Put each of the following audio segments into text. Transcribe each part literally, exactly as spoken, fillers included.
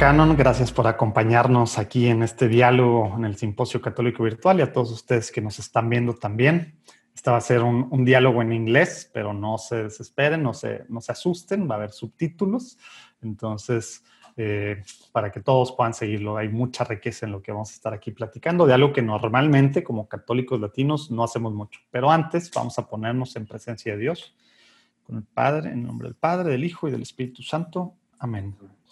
Canon, gracias por acompañarnos aquí en este diálogo en el Simposio Católico Virtual y a todos ustedes que nos están viendo también. Este va a ser un, un diálogo en inglés, pero no se desesperen, no se, no se asusten, va a haber subtítulos. Entonces, eh, para que todos puedan seguirlo, hay mucha riqueza en lo que vamos a estar aquí platicando, de algo que normalmente como católicos latinos no hacemos mucho. Pero antes vamos a ponernos en presencia de Dios, con el Padre, en el nombre del Padre, del Hijo y del Espíritu Santo. Amén.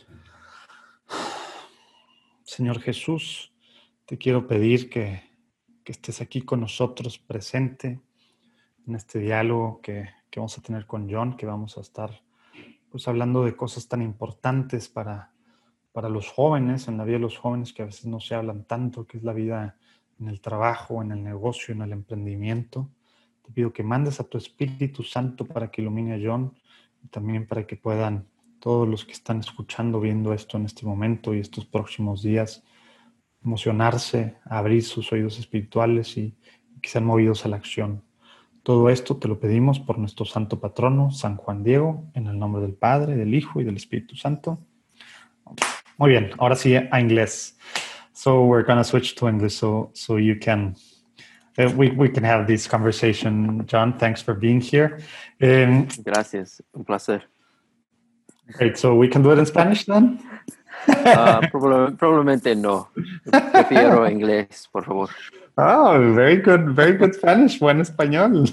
Señor Jesús, te quiero pedir que, que estés aquí con nosotros, presente en este diálogo que, que vamos a tener con John, que vamos a estar pues, hablando de cosas tan importantes para, para los jóvenes, en la vida de los jóvenes que a veces no se hablan tanto, que es la vida en el trabajo, en el negocio, en el emprendimiento. Te pido que mandes a tu Espíritu Santo para que ilumine a John y también para que puedan todos los que están escuchando, viendo esto en este momento y estos próximos días, emocionarse, abrir sus oídos espirituales y, y que sean movidos a la acción. Todo esto te lo pedimos por nuestro santo patrono, San Juan Diego, en el nombre del Padre, del Hijo y del Espíritu Santo. Muy bien, ahora sí a inglés. So we're going to switch to English so, so you can, uh, we, we can have this conversation. John, thanks for being here. Um, Gracias, un placer. Great, so we can do it in Spanish then? uh, probable, probablemente no. Prefiero inglés, por favor. Oh, very good, very good Spanish. Buen español.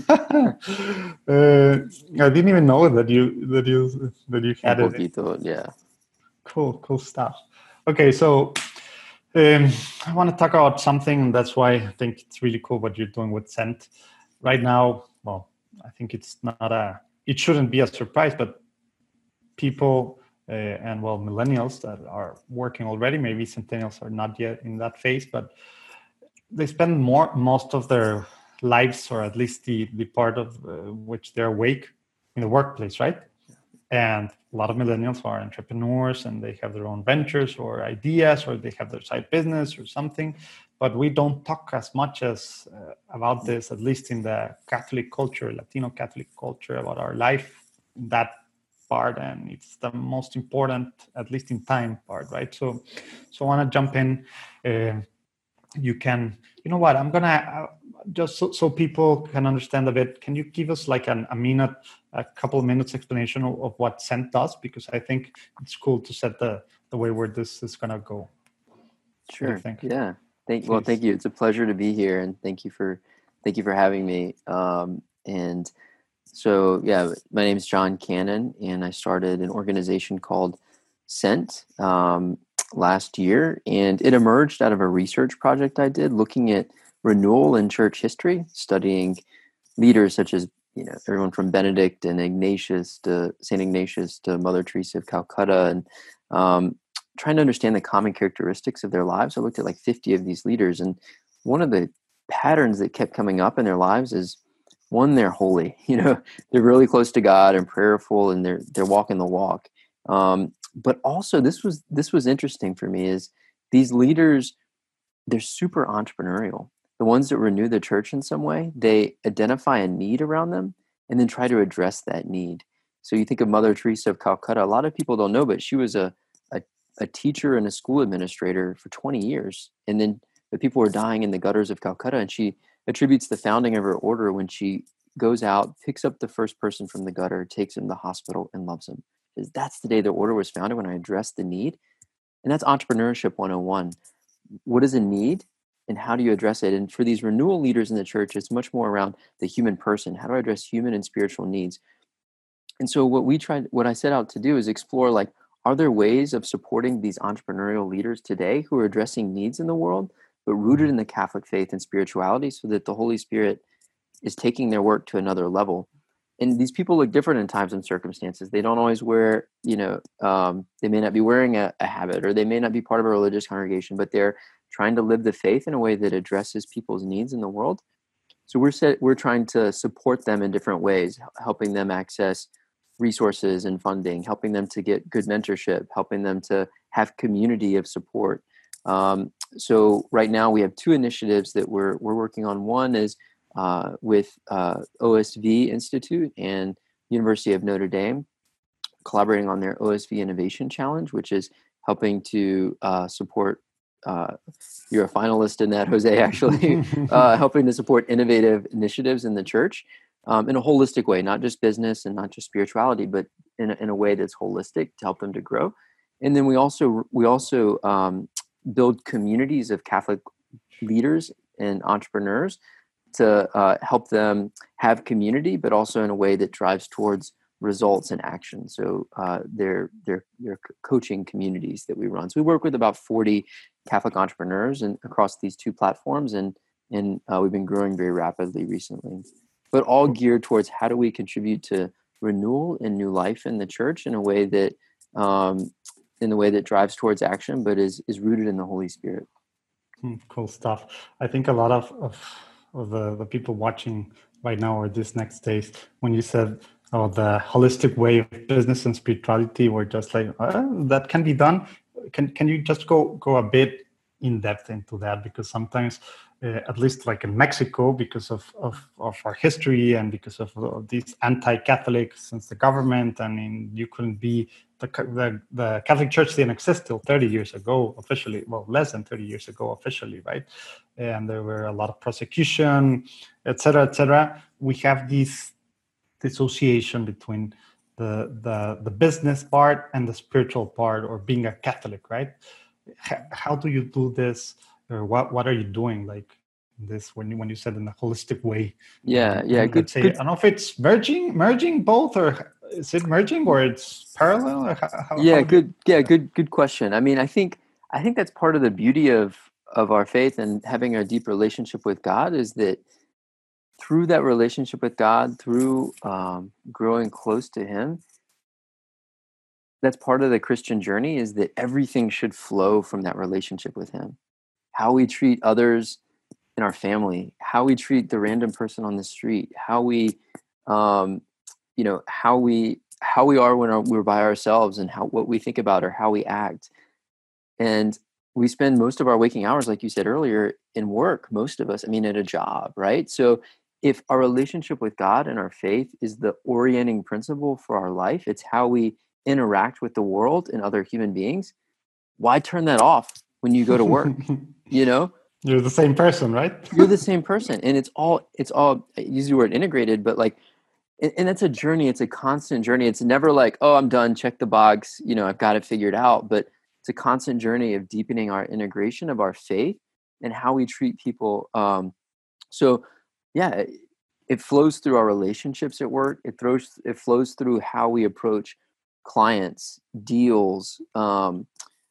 uh, I didn't even know that you that you that you had Un it. poquito, yeah. Cool, cool stuff. Okay, so um, I want to talk about something. That's why I think it's really cool what you're doing with Cent right now. Well, I think it's not a. It shouldn't be a surprise, but people uh, and well, millennials that are working already, maybe centennials are not yet in that phase, but they spend more most of their lives, or at least the the part of uh, which they're awake, in the workplace, right? And a lot of millennials are entrepreneurs and they have their own ventures or ideas, or they have their side business or something. But we don't talk as much as uh, about this, at least in the Catholic culture, Latino Catholic culture, about our life, that part. And it's the most important, at least in time, part, right? So, so I want to jump in. Uh, you can, you know what, I'm going to, uh, just so, so people can understand a bit, can you give us like an, a minute, a couple of minutes explanation of, of what Cent does? Because I think it's cool to set the, the way where this is going to go. Sure. Yeah. Thank, well, thank you. It's a pleasure to be here, and thank you for, thank you for having me. Um, and so, yeah, my name is John Cannon, and I started an organization called Cent um, last year, and it emerged out of a research project I did looking at renewal in church history, studying leaders such as, you know, everyone from Benedict and Ignatius to Saint Ignatius to Mother Teresa of Calcutta, and um, trying to understand the common characteristics of their lives. I looked at like fifty of these leaders, and one of the patterns that kept coming up in their lives is, one, they're holy. You know, they're really close to God and prayerful, and they're they're walking the walk. Um, but also, this was this was interesting for me, is these leaders, they're super entrepreneurial. The ones that renew the church in some way, they identify a need around them and then try to address that need. So you think of Mother Teresa of Calcutta. A lot of people don't know, but she was a a, a teacher and a school administrator for twenty years, and then the people were dying in the gutters of Calcutta, and she attributes the founding of her order when she goes out, picks up the first person from the gutter, takes him to the hospital, and loves him. Because that's the day the order was founded, when I addressed the need. And that's entrepreneurship one oh one. What is a need, and how do you address it? And for these renewal leaders in the church, it's much more around the human person. How do I address human and spiritual needs? And so what we tried, what I set out to do is explore, like, are there ways of supporting these entrepreneurial leaders today who are addressing needs in the world, but rooted in the Catholic faith and spirituality, so that the Holy Spirit is taking their work to another level? And these people look different in times and circumstances. They don't always wear, you know, um, they may not be wearing a, a habit, or they may not be part of a religious congregation, but they're trying to live the faith in a way that addresses people's needs in the world. So we're set, we're trying to support them in different ways, helping them access resources and funding, helping them to get good mentorship, helping them to have community of support. Um, so right now we have two initiatives that we're we're working on. One is uh, with uh, O S V Institute and University of Notre Dame, collaborating on their O S V Innovation Challenge, which is helping to uh, support. Uh, you're a finalist in that, Jose. Actually, uh, helping to support innovative initiatives in the church um, in a holistic way, not just business and not just spirituality, but in a, in a way that's holistic to help them to grow. And then we also we also um, build communities of Catholic leaders and entrepreneurs to uh, help them have community, but also in a way that drives towards results and action. So uh, they're, they're, they're coaching communities that we run. So we work with about forty Catholic entrepreneurs and across these two platforms. And, and uh, we've been growing very rapidly recently, but all geared towards how do we contribute to renewal and new life in the church in a way that, um, in the way that drives towards action, but is, is rooted in the Holy Spirit. Cool stuff. I think a lot of, of, of the, the people watching right now or this next days, when you said, oh, the holistic way of business and spirituality, were just like, oh, that can be done. Can can you just go go a bit in depth into that? Because sometimes, uh, at least like in Mexico, because of, of, of our history and because of, of these anti-Catholic since the government, I mean, you couldn't be, the, the, the Catholic Church didn't exist till thirty years ago officially, well, less than thirty years ago officially, right? And there were a lot of prosecution, et cetera, et cetera. We have this dissociation between the, the, the business part and the spiritual part, or being a Catholic, right? How do you do this, or what what are you doing like this when you when you said in a holistic way? Yeah, and, yeah, and good, let's say good. I don't know if it's merging merging both, or is it merging, or it's parallel, or how, how, yeah how good you, yeah good good question. I mean, I think I think that's part of the beauty of of our faith and having a deep relationship with God, is that through that relationship with God, through um, growing close to Him, that's part of the Christian journey, is that everything should flow from that relationship with Him. How we treat others in our family, how we treat the random person on the street, how we, um, you know, how we how we are when our, we're by ourselves, and how what we think about or how we act. And we spend most of our waking hours, like you said earlier, in work. Most of us, I mean, at a job, right? So if our relationship with God and our faith is the orienting principle for our life, it's how we interact with the world and other human beings, why turn that off when you go to work? You know, you're the same person, right? You're the same person, and it's all it's all I use the word integrated, but like, and, and it's a journey. It's a constant journey. It's never like, oh, I'm done, check the box, you know, I've got it figured out. But it's a constant journey of deepening our integration of our faith and how we treat people. Um, so, yeah, it, it flows through our relationships at work. It throws it flows through how we approach clients, deals, um,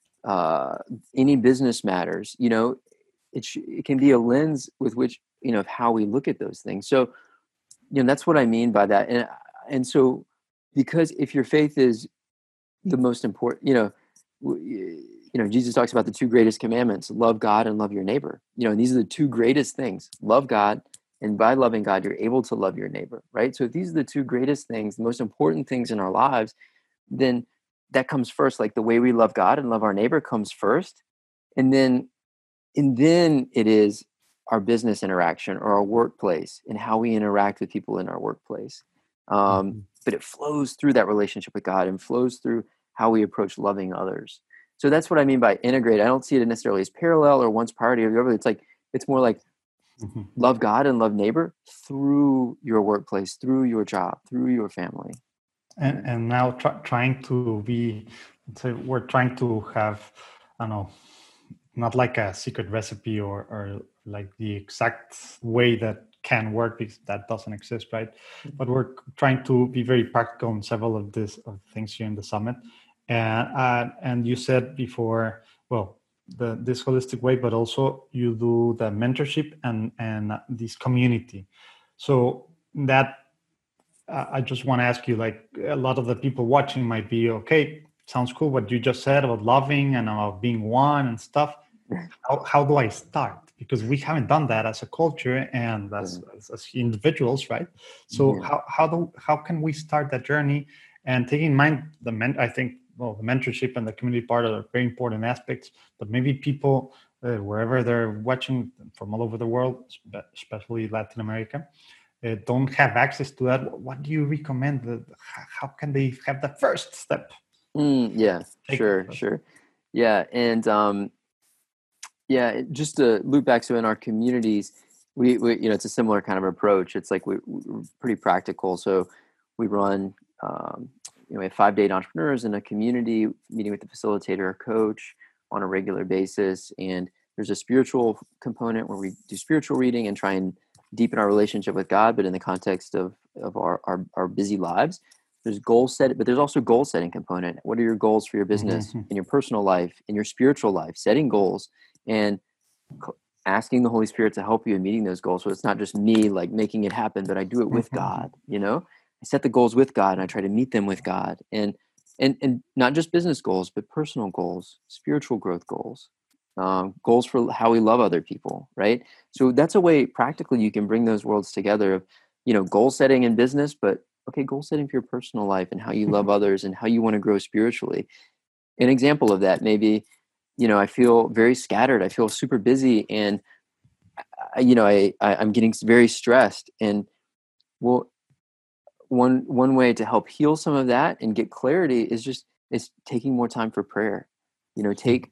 uh, any business matters. You know, it sh- it can be a lens with which, you know, of how we look at those things. So, you know, that's what I mean by that. And and so, because if your faith is the most important, you know, w- you know, Jesus talks about the two greatest commandments: love God and love your neighbor. You know, and these are the two greatest things: love God, and by loving God, you're able to love your neighbor, right? So if these are the two greatest things, the most important things in our lives, then that comes first. Like the way we love God and love our neighbor comes first, and then and then it is our business interaction or our workplace and how we interact with people in our workplace. Um, mm-hmm. But it flows through that relationship with God and flows through how we approach loving others. So that's what I mean by integrate. I don't see it necessarily as parallel or one's priority of the other. It's like, it's more like mm-hmm. love God and love neighbor through your workplace, through your job, through your family. And and now try, trying to be, so we're trying to have, I don't know, not like a secret recipe or, or like the exact way that can work, because that doesn't exist, right? But we're trying to be very practical on several of these of things here in the summit. And uh, and you said before, well, the this holistic way, but also you do the mentorship and and this community. So that uh, I just want to ask you, like, a lot of the people watching might be, okay, sounds cool what you just said about loving and about being one and stuff. How, how do I start? Because we haven't done that as a culture and as, as, as individuals, right? So yeah. how how do how can we start that journey? And taking in mind the men, I think, well, the mentorship and the community part are very important aspects. But maybe people uh, wherever they're watching from all over the world, especially Latin America, uh, don't have access to that. What do you recommend? How can they have the first step? Mm, yeah, Take sure, sure. Yeah. And, um, yeah, just to loop back. So in our communities, we, we, you know, it's a similar kind of approach. It's like we, we're pretty practical. So we run, um, you know, we have five date entrepreneurs in a community meeting with the facilitator or coach on a regular basis. And there's a spiritual component where we do spiritual reading and try and deepen our relationship with God, but in the context of, of our, our, our busy lives. There's goal set, but there's also goal setting component. What are your goals for your business, Mm-hmm. in your personal life, in your spiritual life, setting goals and asking the Holy Spirit to help you in meeting those goals. So it's not just me like making it happen, but I do it with God, you know, I set the goals with God and I try to meet them with God, and, and, and not just business goals, but personal goals, spiritual growth goals, um, goals for how we love other people. Right. So that's a way practically you can bring those worlds together of, you know, goal setting in business, but okay, goal setting for your personal life and how you love others and how you want to grow spiritually. An example of that, maybe, you know, I feel very scattered. I feel super busy, and I, you know, I, I I'm getting very stressed. And well, one one way to help heal some of that and get clarity is just is taking more time for prayer. You know, take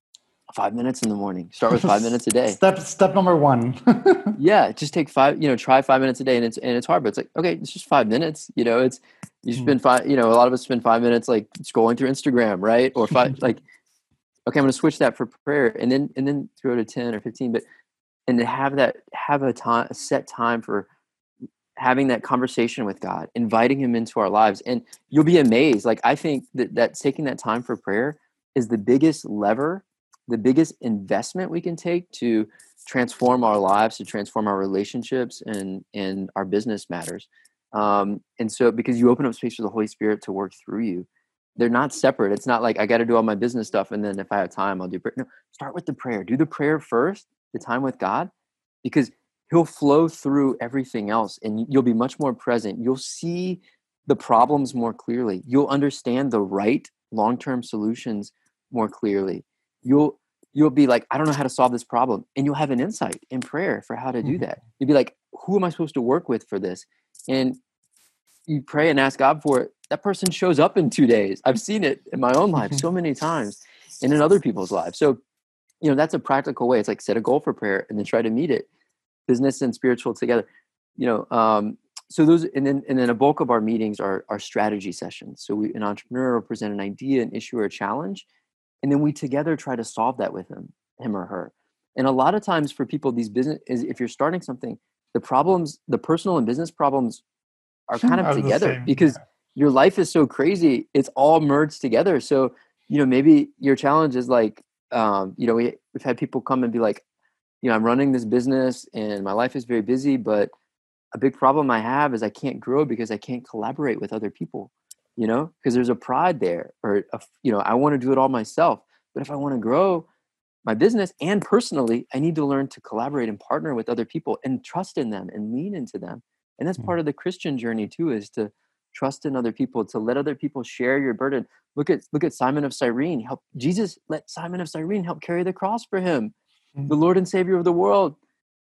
five minutes in the morning. Start with five minutes a day. Step step number one. Yeah, just take five. You know, try five minutes a day, and it's and it's hard, but it's like okay, it's just five minutes. You know, it's you spend five. You know, a lot of us spend five minutes like scrolling through Instagram, right? Or five like. Okay, I'm going to switch that for prayer, and then and then throw to ten or fifteen. But and to have that have a time a set time for having that conversation with God, inviting Him into our lives, and you'll be amazed. Like I think that that taking that time for prayer is the biggest lever, the biggest investment we can take to transform our lives, to transform our relationships, and and our business matters. Um, and so because you open up space for the Holy Spirit to work through you. They're not separate. It's not like I got to do all my business stuff and then if I have time, I'll do prayer. No, start with the prayer. Do the prayer first, the time with God, because He'll flow through everything else and you'll be much more present. You'll see the problems more clearly. You'll understand the right long-term solutions more clearly. You'll you'll be like, I don't know how to solve this problem. And you'll have an insight in prayer for how to do that. You'll be like, who am I supposed to work with for this? And you pray and ask God for it, that person shows up in two days. I've seen it in my own life so many times and in other people's lives. So, you know, that's a practical way. It's like set a goal for prayer and then try to meet it, business and spiritual together, you know. Um, so those, and then, and then a bulk of our meetings are, are strategy sessions. So we, an entrepreneur will present an idea, an issue or a challenge, and then we together try to solve that with him, him or her. And a lot of times for people, these business is if you're starting something, the problems, the personal and business problems are kind of Are together because yeah. your life is so crazy. It's all merged together. So, you know, maybe your challenge is like, um, you know, we, we've had people come and be like, you know, I'm running this business and my life is very busy, but a big problem I have is I can't grow because I can't collaborate with other people, you know, because there's a pride there or, a, you know, I want to do it all myself. But if I want to grow my business and personally, I need to learn to collaborate and partner with other people and trust in them and lean into them. And that's part of the Christian journey too, is to trust in other people, to let other people share your burden. Look at look at Simon of Cyrene. Help Jesus let Simon of Cyrene help carry the cross for him, mm-hmm. the Lord and Savior of the world.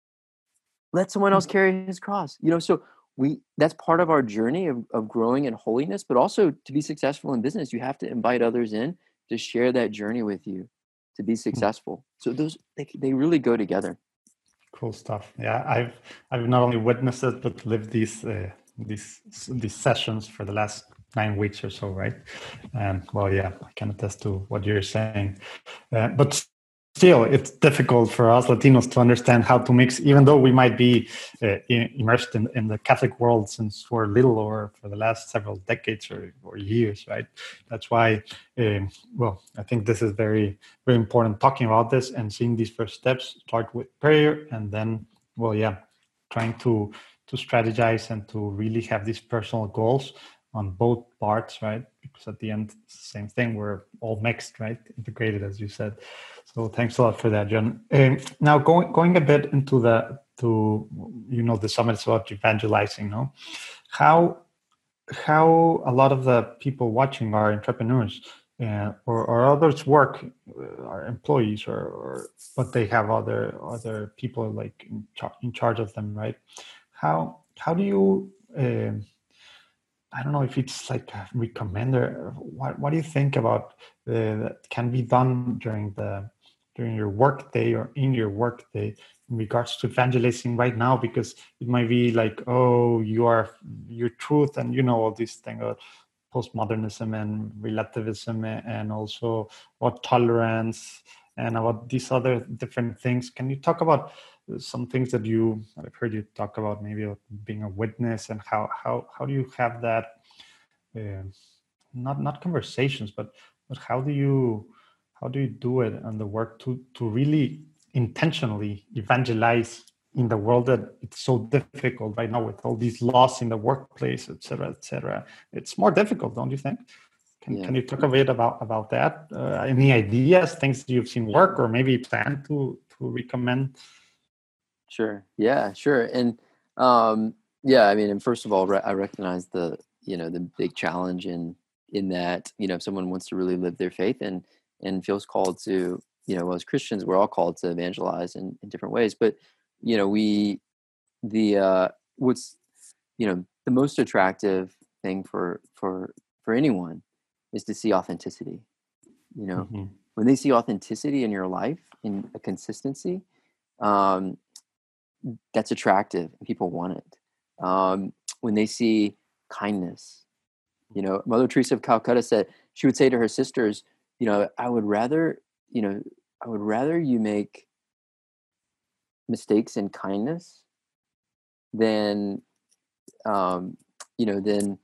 Let someone else carry his cross. You know, so we that's part of our journey of, of growing in holiness, but also to be successful in business, you have to invite others in to share that journey with you to be successful. So those they they really go together. Cool stuff. Yeah, I've I've not only witnessed it but lived these uh, these these sessions for the last nine weeks or so, right? And well, yeah, I can attest to what you're saying. Uh, but still, it's difficult for us Latinos to understand how to mix, even though we might be uh, immersed in, in the Catholic world since we're little or for the last several decades or, or years, right? That's why, um, well, I think this is very, very important talking about this and seeing these first steps, start with prayer and then, well, yeah, trying to, to strategize and to really have these personal goals on both parts, right? Because at the end, it's the same thing. We're all mixed, right? Integrated, as you said. So thanks a lot for that, John. Um, now going going a bit into the to you know the summit is about evangelizing. No, how how a lot of the people watching are entrepreneurs uh, or or others work uh, are employees or, or but they have other other people like in, char- in charge of them, right? How how do you uh, I don't know if it's like a recommender. What What do you think about uh, that can be done during the during your work day or in your work day in regards to evangelizing right now? Because it might be like, oh, you are your truth, and you know all these things about postmodernism and relativism, and also about tolerance and about these other different things. Can you talk about some things that you I've heard you talk about, maybe about being a witness, and how how how do you have that uh, not not conversations, but but how do you how do you do it on the work to to really intentionally evangelize in the world that it's so difficult right now with all these laws in the workplace, et cetera, et cetera. It's more difficult, don't you think? Can Yeah. Can you talk a bit about about that? Uh, any ideas, things that you've seen work, or maybe plan to to recommend? Sure. Yeah, sure. And um, yeah, I mean, and first of all, re- I recognize the, you know, the big challenge in in that, you know, if someone wants to really live their faith and and feels called to, you know, well, as Christians, we're all called to evangelize in, in different ways. But, you know, we the uh what's, you know, the most attractive thing for for for anyone is to see authenticity. You know, Mm-hmm. when they see authenticity in your life, in a consistency, um, that's attractive and people want it. Um, when they see kindness, you know, Mother Teresa of Calcutta said, she would say to her sisters, you know, I would rather, you know, I would rather you make mistakes in kindness than, um, you know, than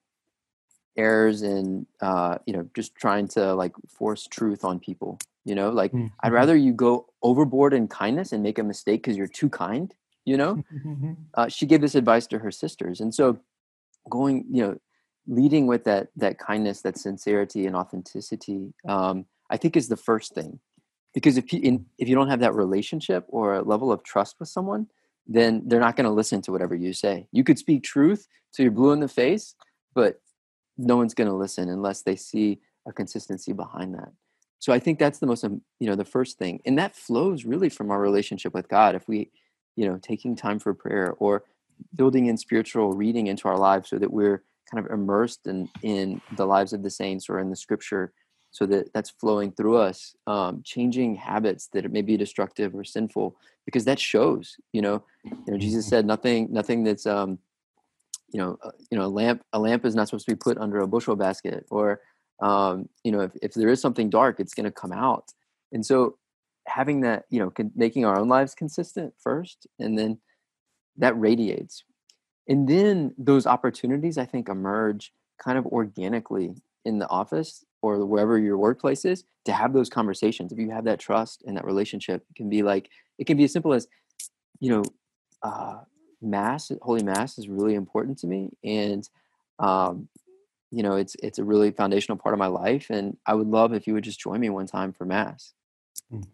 errors in, uh, you know, just trying to like force truth on people, you know, like I'd Mm-hmm. rather you go overboard in kindness and make a mistake because you're too kind, you know. Uh, she gave this advice to her sisters. And so going, you know, leading with that that kindness, that sincerity and authenticity, um, I think is the first thing. Because if you, in, if you don't have that relationship or a level of trust with someone, then they're not going to listen to whatever you say. You could speak truth till you're blue in the face, but no one's going to listen unless they see a consistency behind that. So I think that's the most, um, you know, the first thing. And that flows really from our relationship with God. If we, you know, taking time for prayer or building in spiritual reading into our lives so that we're kind of immersed in, in the lives of the saints or in the scripture, so that that's flowing through us, um, changing habits that may be destructive or sinful, because that shows, you know, you know, Jesus said nothing, nothing that's, um, you know, uh, you know, a lamp, a lamp is not supposed to be put under a bushel basket, or, um, you know, if, if there is something dark, it's going to come out. And so having that, you know, con- making our own lives consistent first, and then that radiates. And then those opportunities, I think, emerge kind of organically in the office or wherever your workplace is, to have those conversations. If you have that trust and that relationship, it can be like, it can be as simple as, you know, uh, mass, holy mass is really important to me. And, um, you know, it's, it's a really foundational part of my life. And I would love if you would just join me one time for mass. Mm.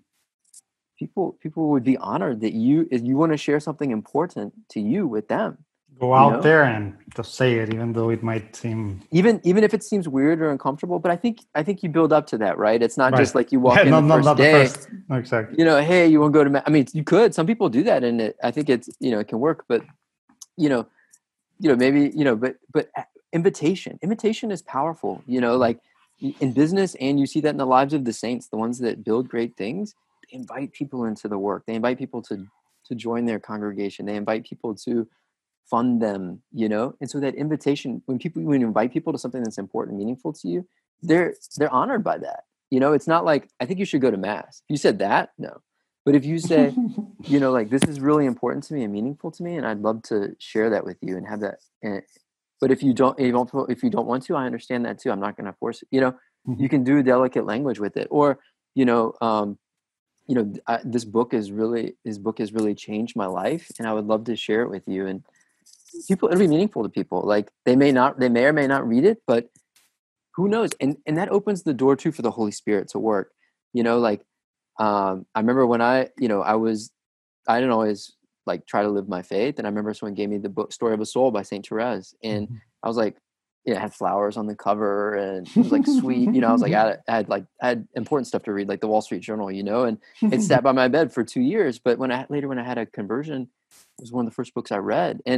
People, people would be honored that you, if you want to share something important to you with them. Go You out know? there and just say it, even though it might seem even even if it seems weird or uncomfortable. But I think I think you build up to that, right? It's not right. just like you walk Yeah, in not, the not, first not the day, first. No, exactly. you know, hey, you want to go to ma-? I mean, you could. Some people do that, and it, I think it's, you know, it can work. But you know, you know, maybe, you know, but but invitation, invitation is powerful. You know, like in business, and you see that in the lives of the saints, the ones that build great things. They invite people into the work. They invite people to to join their congregation. They invite people to fund them, you know. And so that invitation, when people, when you invite people to something that's important, meaningful to you, they're they're honored by that. You know, it's not like, I think you should go to mass. If you said that, no. But if you say, you know, like, this is really important to me and meaningful to me, and I'd love to share that with you and have that. And, but if you don't, if you don't, if you don't want to, I understand that too. I'm not going to force it. You know, Mm-hmm. you can do delicate language with it, or, you know, um, you know, I, this book is really, this book has really changed my life, and I would love to share it with you. And people, it'll be meaningful to people. Like, they may not, they may or may not read it, but who knows? And and that opens the door too for the Holy Spirit to work. You know, like, um, I remember when I, you know, I was, I didn't always like try to live my faith. And I remember someone gave me the book Story of a Soul by Saint Therese, and Mm-hmm. I was like, yeah, it had flowers on the cover, and it was like sweet. You know, I was like, I had, I had like, I had important stuff to read, like the Wall Street Journal, you know, and it sat by my bed for two years. But when I later, when I had a conversion, it was one of the first books I read. And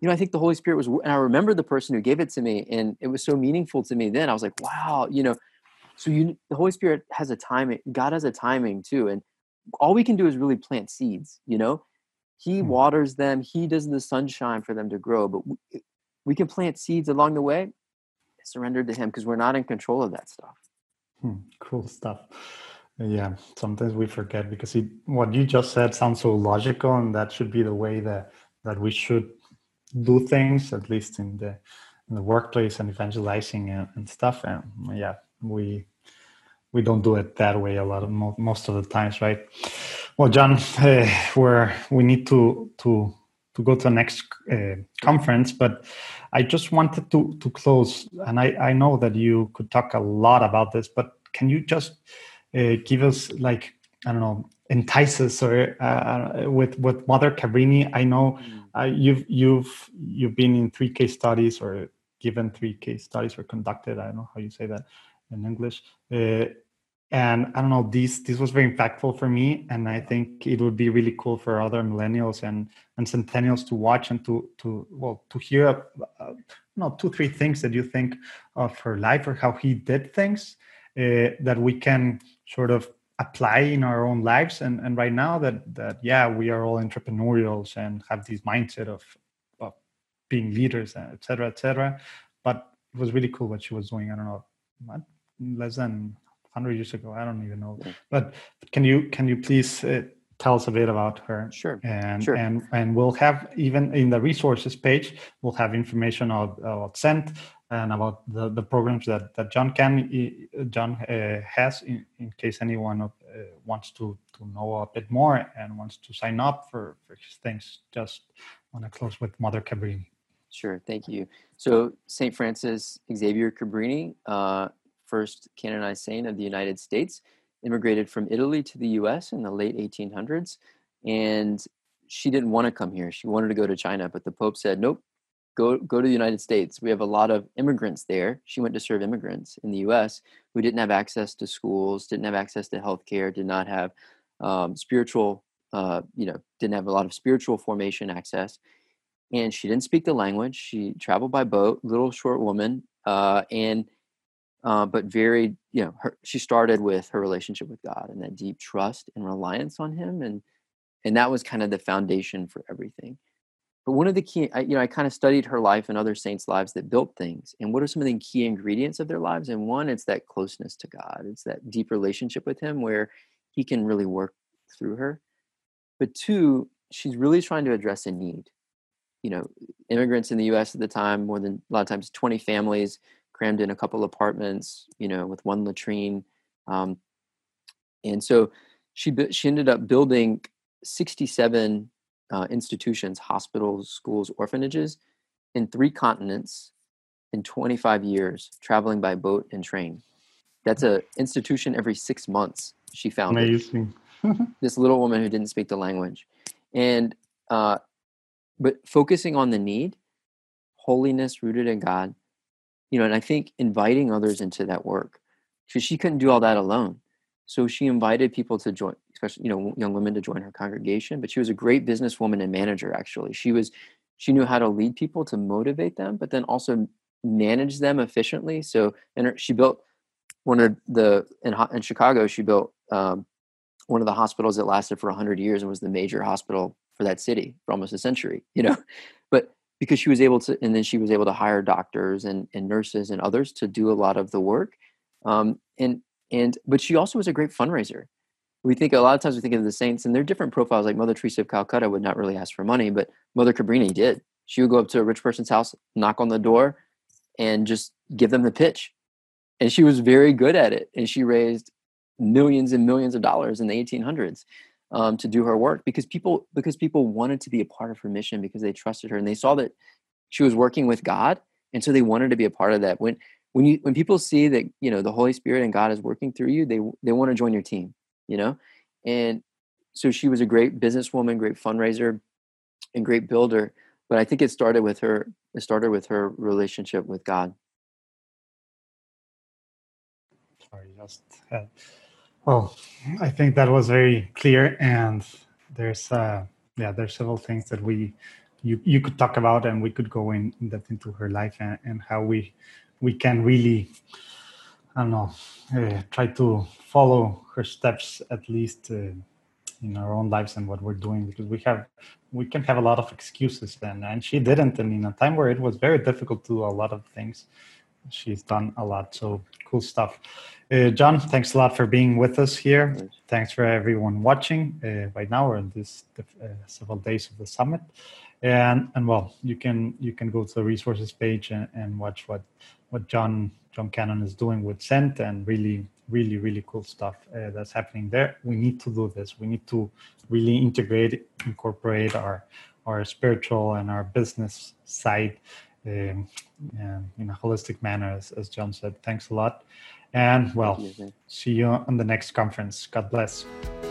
you know, I think the Holy Spirit was, and I remember the person who gave it to me, and it was so meaningful to me then. I was like, wow, you know, so you, the Holy Spirit has a timing, God has a timing too. And all we can do is really plant seeds, you know, he hmm. waters them, he does the sunshine for them to grow, but we, we can plant seeds along the way, surrender to him, because we're not in control of that stuff. Hmm, cool stuff. Yeah, sometimes we forget, because it, what you just said sounds so logical, and that should be the way that that we should do things, at least in the in the workplace and evangelizing and, and stuff. And yeah, we we don't do it that way a lot of most of the times, right? Well, John, uh, we're we need to to to go to the next uh, conference, but I just wanted to to close, and I I know that you could talk a lot about this, but can you just uh, give us, like, I don't know, entice us or uh, with with Mother Cabrini? I know uh, you've you've you've been in three case studies, or given three case studies, or conducted. I don't know how you say that in English. Uh, and I don't know, this this was very impactful for me, and I think it would be really cool for other millennials and and centennials to watch and to to well to hear uh, you know, two three things that you think of her life, or how he did things uh, that we can sort of apply in our own lives. And and right now that that yeah, we are all entrepreneurials and have this mindset of of being leaders, et cetera, et cetera. But it was really cool what she was doing. I don't know, what, less than one hundred years ago. I don't even know. Yeah. But can you can you please uh, tell us a bit about her? Sure. And sure. and and we'll have, even in the resources page, we'll have information about, about Sent and about the, the programs that, that John can John uh, has, in, in case anyone uh, wants to to know a bit more and wants to sign up for, for things. Just want to close with Mother Cabrini. Sure. Thank you. So Saint Francis Xavier Cabrini, uh, first canonized saint of the United States, immigrated from Italy to the U S in the late eighteen hundreds. And she didn't want to come here. She wanted to go to China, but the Pope said, nope, go, go to the United States. We have a lot of immigrants there. She went to serve immigrants in the U S who didn't have access to schools, didn't have access to healthcare, did not have um, spiritual, uh, you know, didn't have a lot of spiritual formation access. And she didn't speak the language. She traveled by boat, little short woman, uh, and uh, but very, you know, her, she started with her relationship with God and that deep trust and reliance on Him, and and that was kind of the foundation for everything. But one of the key, I, you know, I kind of studied her life and other saints' lives that built things, and what are some of the key ingredients of their lives? And one, it's that closeness to God. It's that deep relationship with Him where He can really work through her. But two, she's really trying to address a need. You know, immigrants in the U S at the time, more than a lot of times twenty families crammed in a couple apartments, you know, with one latrine. Um, and so she she ended up building sixty-seven uh, institutions, hospitals, schools, orphanages in three continents in twenty-five years, traveling by boat and train. That's an institution every six months she founded. Amazing. This little woman who didn't speak the language. And uh, but focusing on the need, holiness rooted in God, you know, and I think inviting others into that work, because she couldn't do all that alone. So she invited people to join, especially, you know, young women to join her congregation. But she was a great businesswoman and manager, actually. She was, she knew how to lead people, to motivate them, but then also manage them efficiently. So, and her, she built one of the, in, in Chicago, she built um, one of the hospitals that lasted for one hundred years and was the major hospital for that city for almost a century, you know, but because she was able to, and then she was able to hire doctors and, and nurses and others to do a lot of the work. Um, and, and, but she also was a great fundraiser. We think, a lot of times we think of the saints and their different profiles, like Mother Teresa of Calcutta would not really ask for money, but Mother Cabrini did. She would go up to a rich person's house, knock on the door, and just give them the pitch. And she was very good at it. And she raised millions and millions of dollars in the eighteen hundreds. Um, to do her work, because people because people wanted to be a part of her mission, because they trusted her and they saw that she was working with God, and so they wanted to be a part of that. When when you when people see that, you know, the Holy Spirit and God is working through you, they they want to join your team, you know. And so she was a great businesswoman, great fundraiser, and great builder. But I think it started with her. It started with her relationship with God. Sorry, just. Uh... Well, I think that was very clear, and there's uh, yeah, there's several things that we you you could talk about, and we could go in, in depth into her life and, and how we we can really, I don't know, uh, try to follow her steps at least uh, in our own lives and what we're doing, because we have we can have a lot of excuses, and and she didn't, and in a time where it was very difficult to do a lot of things, she's done a lot. So cool stuff. Uh, John, thanks a lot for being with us here. Thanks for everyone watching uh, right now or in this uh, several days of the summit. And and well, you can you can go to the resources page and, and watch what what John John Cannon is doing with Cent, and really really really cool stuff uh, that's happening there. We need to do this. We need to really integrate, incorporate our our spiritual and our business side um, in a holistic manner, as, as John said. Thanks a lot. And well, see you on the next conference. God bless.